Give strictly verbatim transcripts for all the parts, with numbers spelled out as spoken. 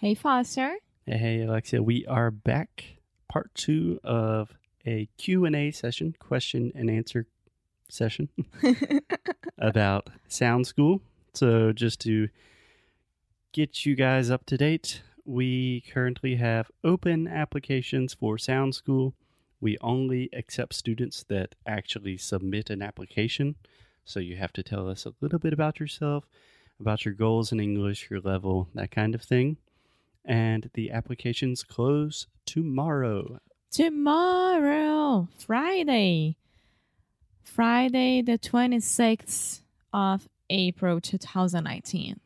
Hey, Foster. Hey, hey, Alexia. We are back. Part two of a Q and A session, question and answer session about Sound School. So just to get you guys up to date, we currently have open applications for Sound School. We only accept students that actually submit an application. So you have to tell us a little bit about yourself, about your goals in English, your level, that kind of thing. And the applications close tomorrow. Tomorrow, Friday. Friday, the twenty-sixth of April, twenty nineteen.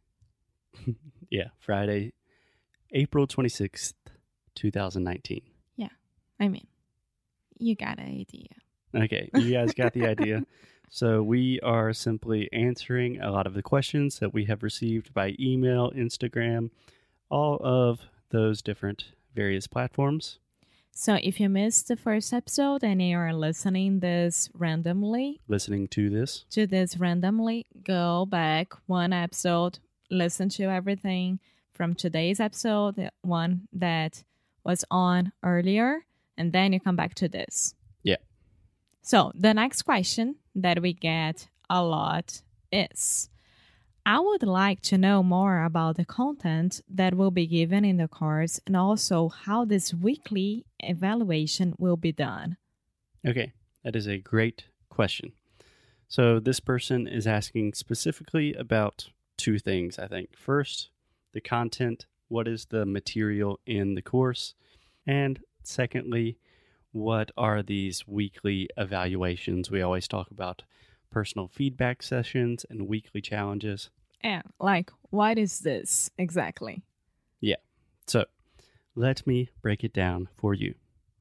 Yeah, Friday, April twenty-sixth, twenty nineteen. Yeah, I mean, you got an idea. Okay, you guys got the idea. So we are simply answering a lot of the questions that we have received by email, Instagram, all of those different various platforms. So if you missed the first episode and you are listening this randomly, listening to this, to this randomly, go back one episode, listen to everything from today's episode, the one that was on earlier, and then you come back to this. Yeah. So the next question that we get a lot is, I would like to know more about the content that will be given in the course and also how this weekly evaluation will be done. Okay, that is a great question. So this person is asking specifically about two things, I think. First, the content, what is the material in the course? And secondly, what are these weekly evaluations? We always talk about personal feedback sessions and weekly challenges. And like, what is this exactly? Yeah. So let me break it down for you.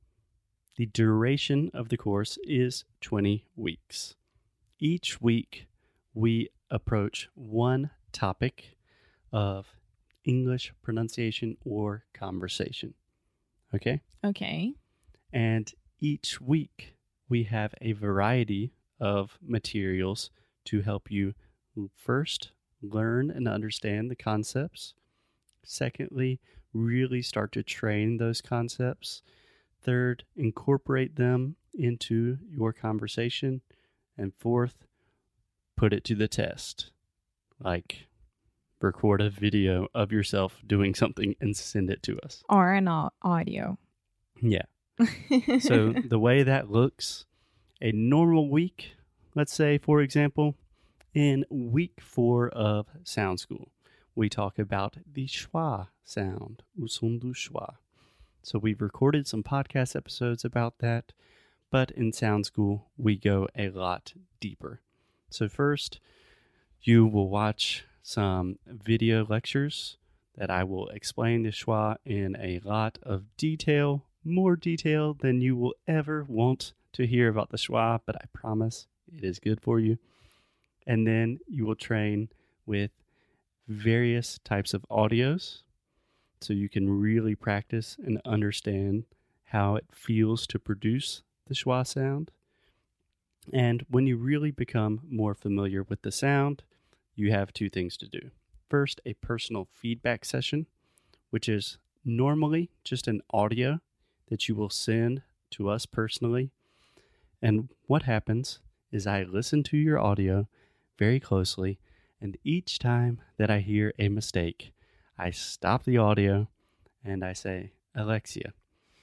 The duration of the course is twenty weeks. Each week, we approach one topic of English pronunciation or conversation. Okay? Okay. And each week, we have a variety of materials to help you first learn and understand the concepts. Secondly, really start to train those concepts. Third, incorporate them into your conversation. And fourth, put it to the test. Like, record a video of yourself doing something and send it to us. Or an audio. Yeah. So the way that looks, a normal week, let's say, for example, in week four of Sound School, we talk about the schwa sound, o som do schwa. So we've recorded some podcast episodes about that, but in Sound School, we go a lot deeper. So first, you will watch some video lectures that I will explain the schwa in a lot of detail, more detail than you will ever want to hear about the schwa, but I promise it is good for you. And then you will train with various types of audios so you can really practice and understand how it feels to produce the schwa sound. And when you really become more familiar with the sound, you have two things to do. First, a personal feedback session, which is normally just an audio that you will send to us personally. And what happens is I listen to your audio very closely, and each time that I hear a mistake, I stop the audio and I say, Alexia,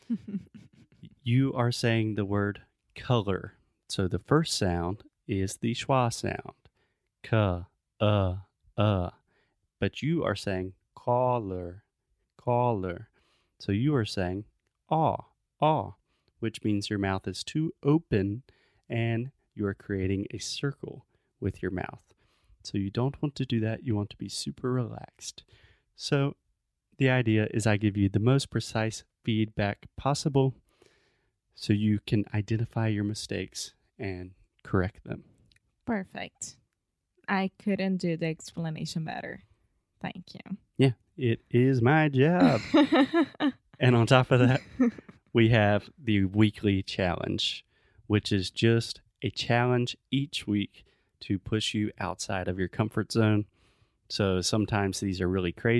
you are saying the word color. So the first sound is the schwa sound. Ka, uh, uh. But you are saying collar, collar. So you are saying aw, aw, which means your mouth is too open and you are creating a circle with your mouth. So you don't want to do that. You want to be super relaxed. So the idea is I give you the most precise feedback possible so you can identify your mistakes and correct them. Perfect. I couldn't do the explanation better. Thank you. Yeah, it is my job. And on top of that, we have the weekly challenge, which is just a challenge each week to push you outside of your comfort zone. So sometimes these are really crazy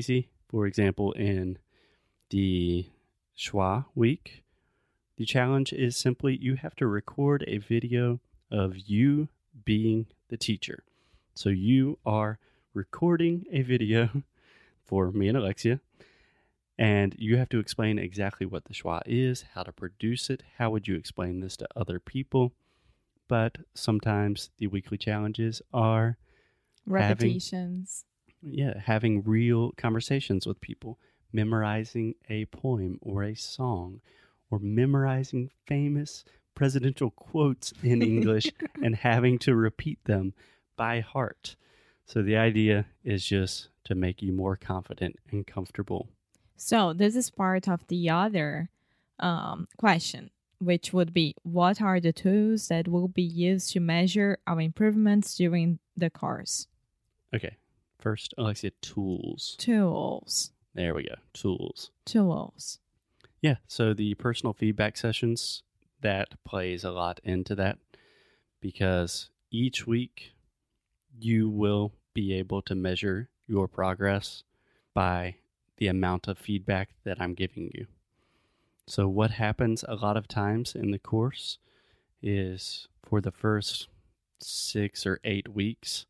For example, in the Schwa week, the challenge is simply you have to record a video of you being the teacher. So you are recording a video for me and Alexia, and you have to explain exactly what the schwa is, how to produce it, how would you explain this to other people. But sometimes the weekly challenges are repetitions. Having, yeah, having real conversations with people, memorizing a poem or a song, or memorizing famous presidential quotes in English and having to repeat them by heart. So the idea is just to make you more confident and comfortable. So this is part of the other um, question, which would be, what are the tools that will be used to measure our improvements during the course? Okay. First, Alexia, tools. Tools. There we go. Tools. Tools. Yeah. So the personal feedback sessions, that plays a lot into that, because each week you will be able to measure your progress by the amount of feedback that I'm giving you. So what happens a lot of times in the course is for the first six or eight weeks,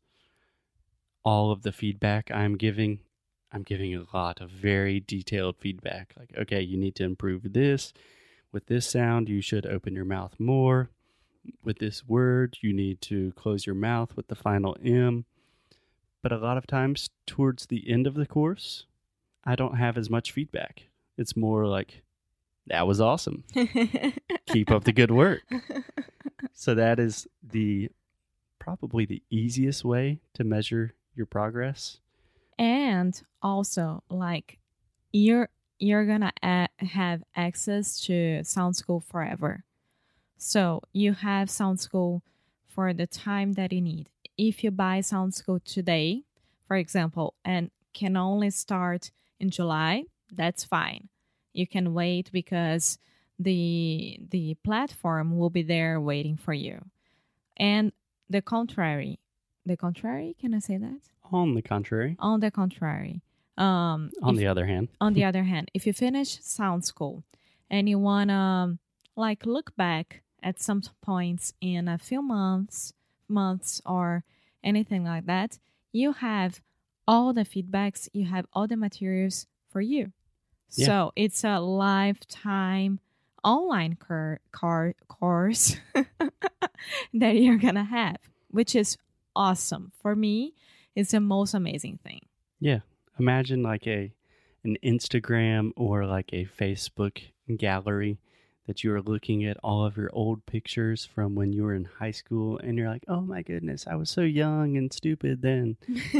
all of the feedback I'm giving, I'm giving a lot of very detailed feedback. Like, okay, you need to improve this. With this sound, you should open your mouth more. With this word, you need to close your mouth with the final M. But a lot of times towards the end of the course, I don't have as much feedback. It's more like, that was awesome. Keep up the good work. So that is the probably the easiest way to measure your progress. And also, like, you're you're gonna a- have access to Sound School forever. So you have Sound School for the time that you need. If you buy Sound School today, for example, and can only start in July, that's fine. You can wait because the the platform will be there waiting for you. And the contrary, the contrary, can I say that? On the contrary. On the contrary. Um, on if, the other hand. on the other hand, if you finish Sound School and you want to like look back at some points in a few months, months or anything like that, you have all the feedbacks, you have all the materials for you. Yeah. So it's a lifetime online cur- car- course that you're going to have, which is awesome. For me, it's the most amazing thing. Yeah. Imagine like a an Instagram or like a Facebook gallery that you are looking at all of your old pictures from when you were in high school and you're like, oh my goodness, I was so young and stupid then.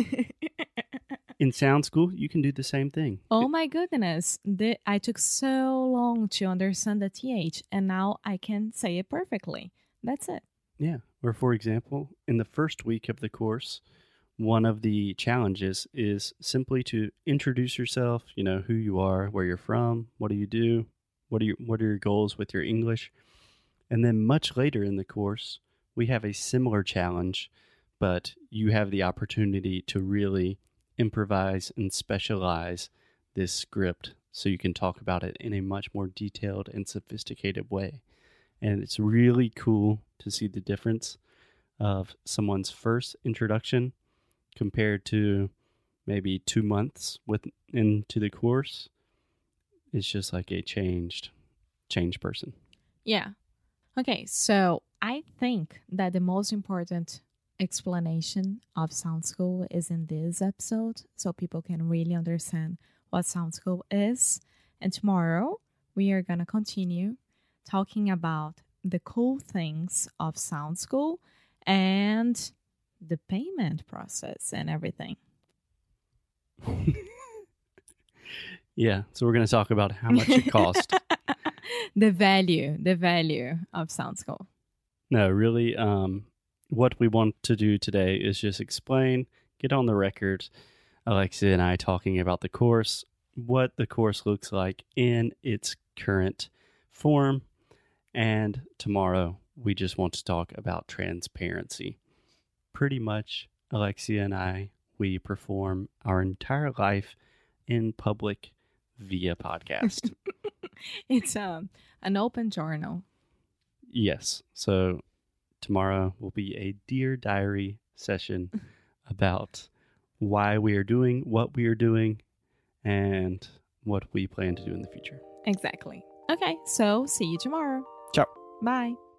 In Sound School, you can do the same thing. Oh my goodness. The, I took so long to understand the T H and now I can say it perfectly. That's it. Yeah. Or for example, in the first week of the course, one of the challenges is simply to introduce yourself, you know, who you are, where you're from, what do you do, what are your, what are your goals with your English. And then much later in the course, we have a similar challenge, but you have the opportunity to really improvise and specialize this script so you can talk about it in a much more detailed and sophisticated way. And it's really cool to see the difference of someone's first introduction compared to maybe two months with into the course. It's just like a changed, changed person. Yeah. Okay, so I think that the most important explanation of Sound School is in this episode, so people can really understand what Sound School is. And tomorrow, we are going to continue talking about the cool things of Sound School and the payment process and everything. Yeah, so we're going to talk about how much it costs. the value, the value of Sound School. No, really, um, what we want to do today is just explain, get on the record, Alexia and I talking about the course, what the course looks like in its current form, and tomorrow we just want to talk about transparency. Pretty much, Alexia and I, we perform our entire life in public via podcast. It's um, an open journal. Yes. So tomorrow will be a Dear Diary session about why we are doing what we are doing and what we plan to do in the future. Exactly. Okay, so see you tomorrow. Ciao. Bye.